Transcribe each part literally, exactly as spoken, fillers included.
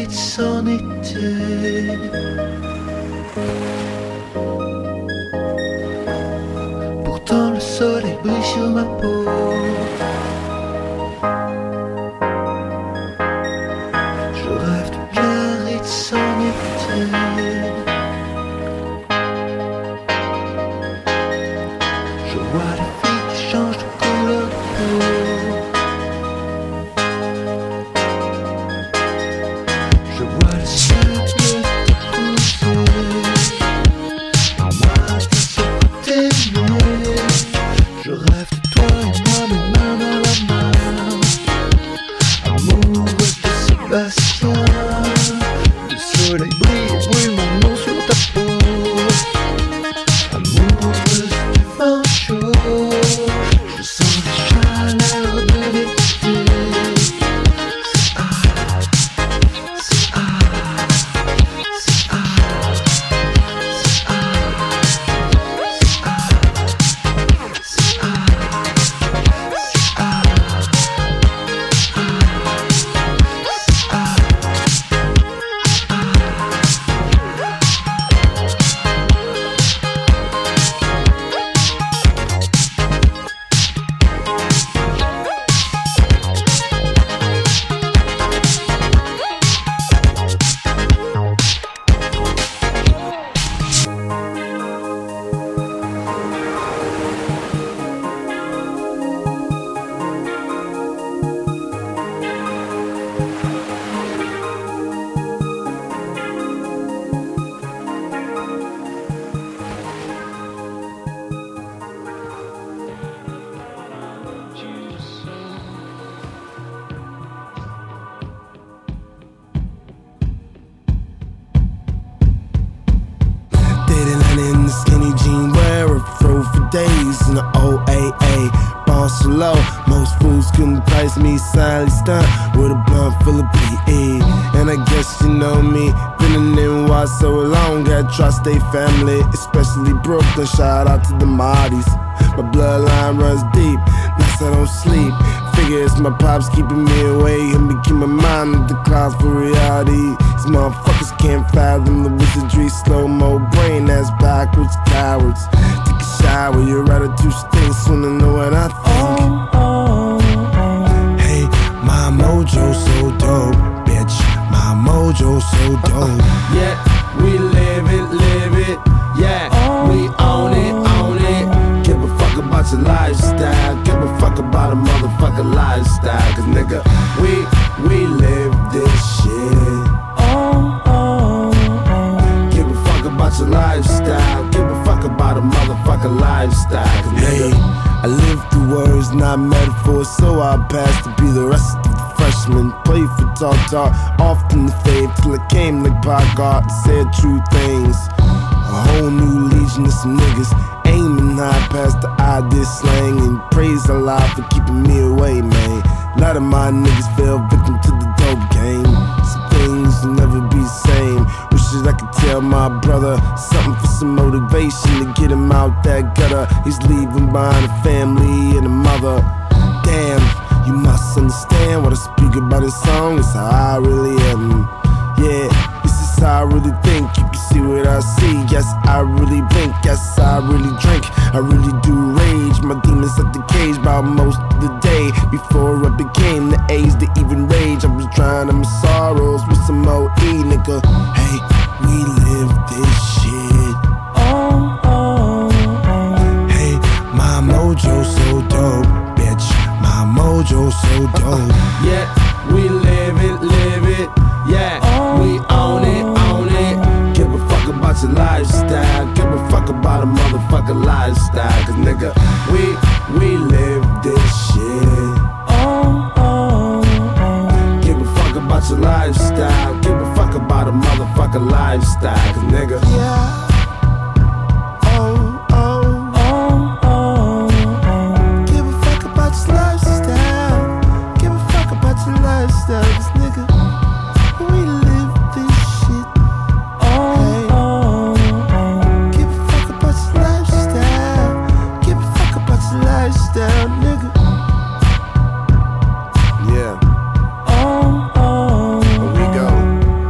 Biarritz en été. Pourtant le soleil brille sur ma peau. Je rêve de Biarritz en été. Je vois les filles qui changent de couleur de peau. Je vois le ciel bleu t'épouser. Moi je sais t'aimer. Je rêve de toi et moi, mes mains dans la main. Amoureux de Sébastien. Le soleil brille et brûle mon nom sur ta peau. Amoureuse du vent chaud. Je sens les chaleurs de l'été. C'est ah, c'est ah, c'est ah, c'est ah, c'est ah, c'est ah, c'est ah, in the skinny jean wearer, throw for days in the O A A. Born so low, most fools couldn't price me. Silently stunt with a blunt full of P E. And I guess you know me, been in N Y so long. Got tri-state family, especially Brooklyn. Shout out to the Mahdi's. My bloodline runs deep, nights I don't sleep. Figure it's my pops keeping me away and me keep my mind in the clouds for reality. These motherfuckers can't fathom the wizardry. Slow-mo brain ass backwards cowards. Take a shower, your attitude stinks. Wanna know what I think? Oh, oh, oh. Hey, my mojo so dope, bitch. My mojo so dope. Yeah, we live it, live it. Yeah, oh, we own it, own it. Give a fuck about your lifestyle. Give a fuck about a motherfucking lifestyle. Cause nigga, we, we live this shit. Oh, oh, oh. Give a fuck about your lifestyle. Give a fuck about a motherfucking lifestyle. Cause Hey, nigga, I live through words, not metaphors, so I pass to be the rest of the freshmen. Play for talk talk, often the fave till I came like Pogart and said true things. A whole new legion of some niggas aiming high past the idea slang and praise Allah for keeping me away, man. A lot of my niggas fell victim to the dope game. Some things will never be the same. Wishes I could tell my brother something for some motivation to get him out that gutter. He's leaving behind a family and a mother. Damn, you must understand what I speak about this song. It's how I really am. Yeah, this is how I really think. You can see what I see. Yes, I really blink. Yes, I really drink. I really do rage. My demons at the cage by most of the day. Before I became the age to even rage, I was drowning my sorrows with some O E, nigga. Hey, we live this shit. Oh, oh, oh. Hey, my mojo so dope, bitch. My mojo so dope. yeah, we live it, live it. Yeah, Oh, we own it, own it. Give a fuck about your lifestyle. Give a fuck about a motherfucking lifestyle. Cause nigga, we, we live this shit. oh, oh, oh. Give a fuck about your lifestyle. Give a fuck about a motherfucking lifestyle. Cause nigga, Yeah. Oh, oh, oh, oh, oh. Give a fuck about your lifestyle. Give a fuck about your lifestyle, 'cause nigga, we live this shit. Oh, oh, oh. Give a fuck about your lifestyle. Give a fuck about your lifestyle, nigga. Yeah. Oh, oh. Here we go.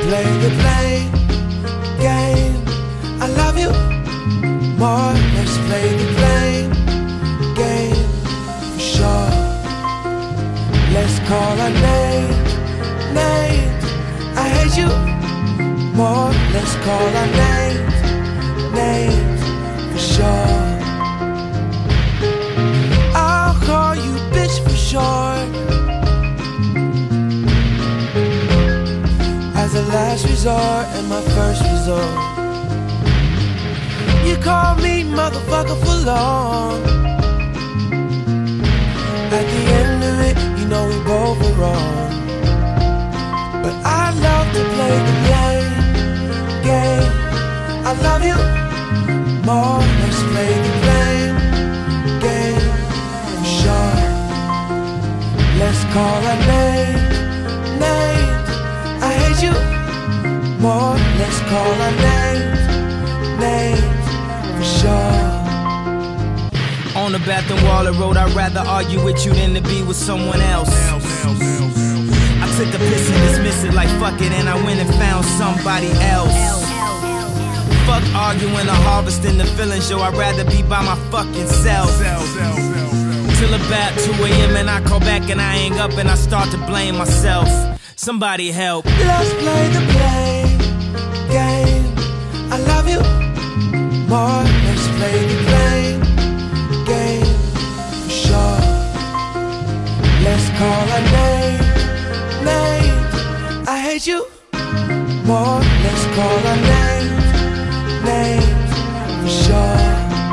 play the blame game. I love you more. Let's play the blame game for sure. Let's call our names, names. I hate you more. Let's call our names, names for sure. I'll call you bitch for short. As a last resort and my first resort. You call me motherfucker for long. At the end of it, you know we both were wrong. But I love to play the blame game. I love you more. Let's play the blame game for sure. Let's call our names, names. I hate you more. Let's call our names, names for sure. On the bathroom wall, I wrote, I'd rather argue with you than to be with someone else. I took a piss and dismissed it like fuck it, and I went and found somebody else. Fuck arguing or harvesting the feelings, yo, I'd rather be by my fucking self. Till about two a.m. and I call back and I hang up and I start to blame myself. Somebody help. Let's play the blame game. I love you more. Let's play the blame game for sure. Let's call our names, names. I hate you more. Let's call our names, names for sure.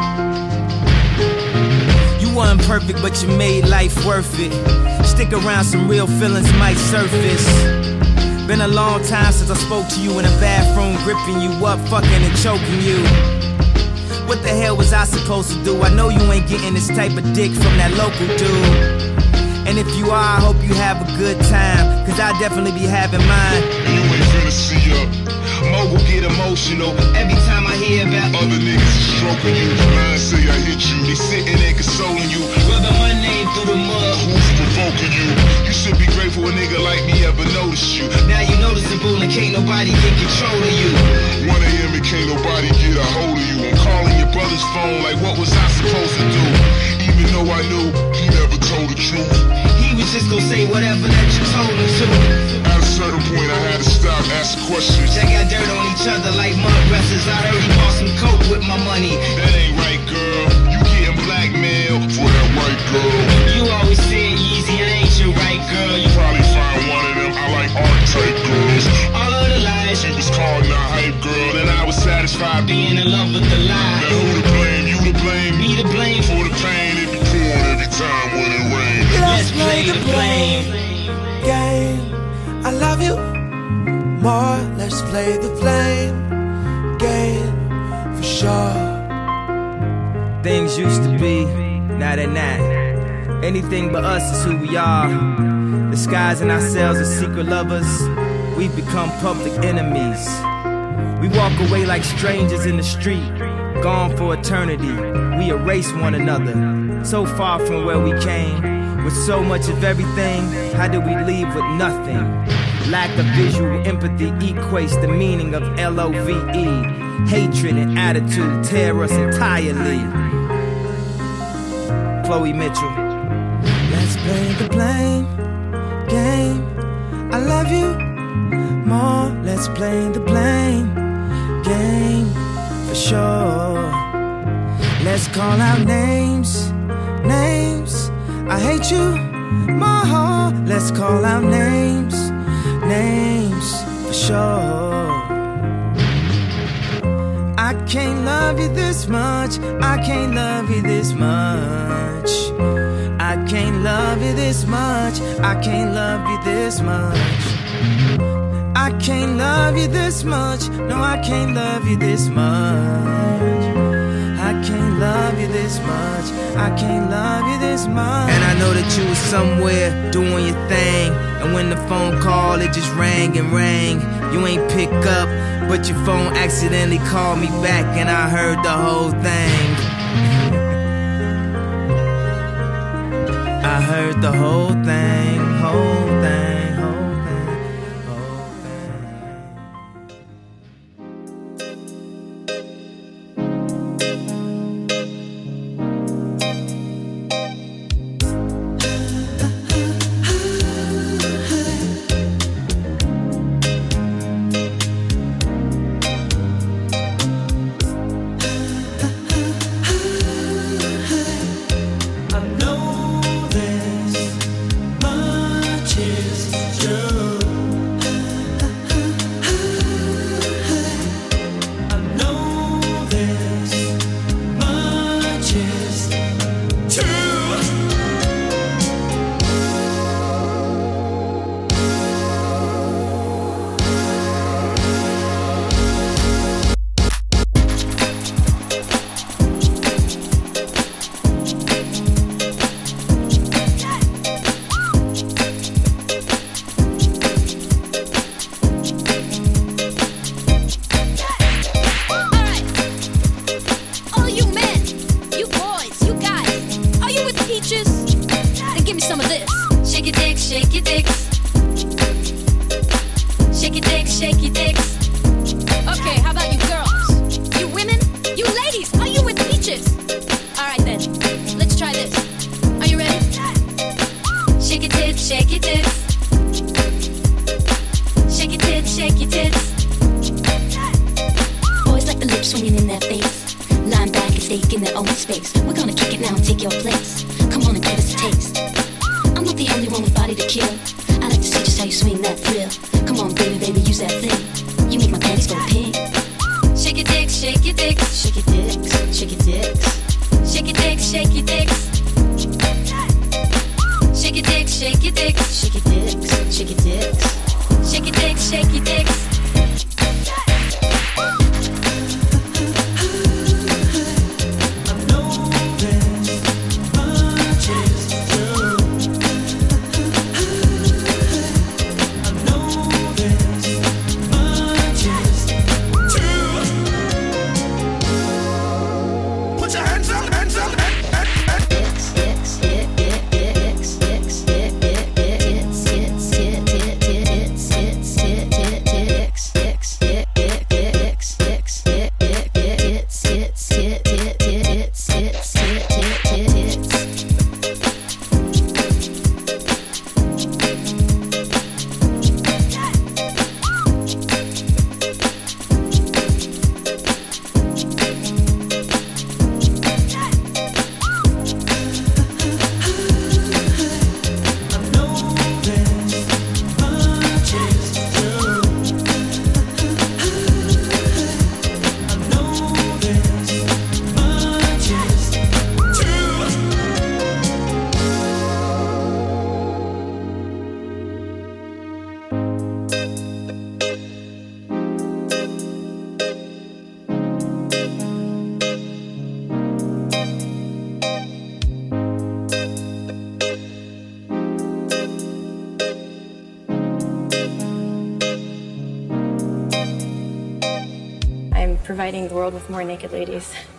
You weren't perfect, but you made life worth it. Stick around, some real feelings might surface. Been a long time since I spoke to you in a bathroom, gripping you up, fucking and choking you. What the hell was I supposed to do? I know you ain't getting this type of dick from that local dude. And if you are, I hope you have a good time, cause I definitely be having mine. And you ain't finna see up. Mogul get emotional every time I hear about other niggas stroking you. Mine say I hit you, they sitting there consoling you. Rubbing my name through the mud, who's provoking you? You should be grateful a nigga like me ever noticed you. Now you noticeable and can't nobody get control of you. one a.m. and can't nobody get a hold of you. I'm calling your brother's phone like what was I supposed to do? Even though I knew he never told the truth. He was just gonna say whatever that you told him to. At a certain point I had to stop asking questions. They got dirt on each other like mud wrestlers. I heard he bought some coke with my money. That ain't right, girl. You getting blackmailed for that white girl. You always said Yeezy, I ain't your right girl. You probably find one of them. I like art type girls. All of the lies. She was called a hype girl, and I was satisfied being in love with the lie. Now who to blame? You to blame? Me to blame for the pain it be pouring every time when it rains. Let's play the blame game. I love you more. Let's play the blame game for sure. Things used to be, now they're not. Anything but us is who we are. Disguising ourselves as secret lovers, we've become public enemies. We walk away like strangers in the street, gone for eternity. We erase one another, so far from where we came. With so much of everything, how do we leave with nothing? Lack of visual empathy equates the meaning of L O V E. Hatred and attitude tear us entirely. Chloe Mitchell. Let's play the blame game. I love you more. Let's play the blame game for sure. Let's call out names, names. I hate you more. Let's call out names, names for sure. I can't love you this much. I can't love you this much. I can't love you this much. I can't love you this much. I can't love you this much. No, I can't love you this much. I can't love you this much. I can't love you this much. And I know that you was somewhere doing your thing, and when the phone called, it just rang and rang. You ain't pick up, but your phone accidentally called me back, and I heard the whole thing. I heard the whole thing, whole thing, whole thing, whole thing. peaches? Then give me some of this. Shake your dicks, shake your dicks. Shake your dicks, shake your dicks. Okay, how about you girls? You women? You ladies, are you with peaches? Alright then, let's try this. Are you ready? Shake your tits, shake your tits. Shake your tits, shake your tits. Boys like the lips swinging in their face. Lying back and taking their own space. We're gonna kick it now and take your place. Come on and give us a taste. I'm not the only one with body to kill. I like to see just how you swing that thrill. Come on, baby, baby, use that thing. You make my panties go pink. Shake your dicks, shake your dicks. Shake your dicks, shake your dicks. Shake your dicks, shake your dicks. Shake your dicks, shake your dicks. Shake your dicks, shake your dicks. Shake your dicks, shake your dicks. Providing the world with more naked ladies.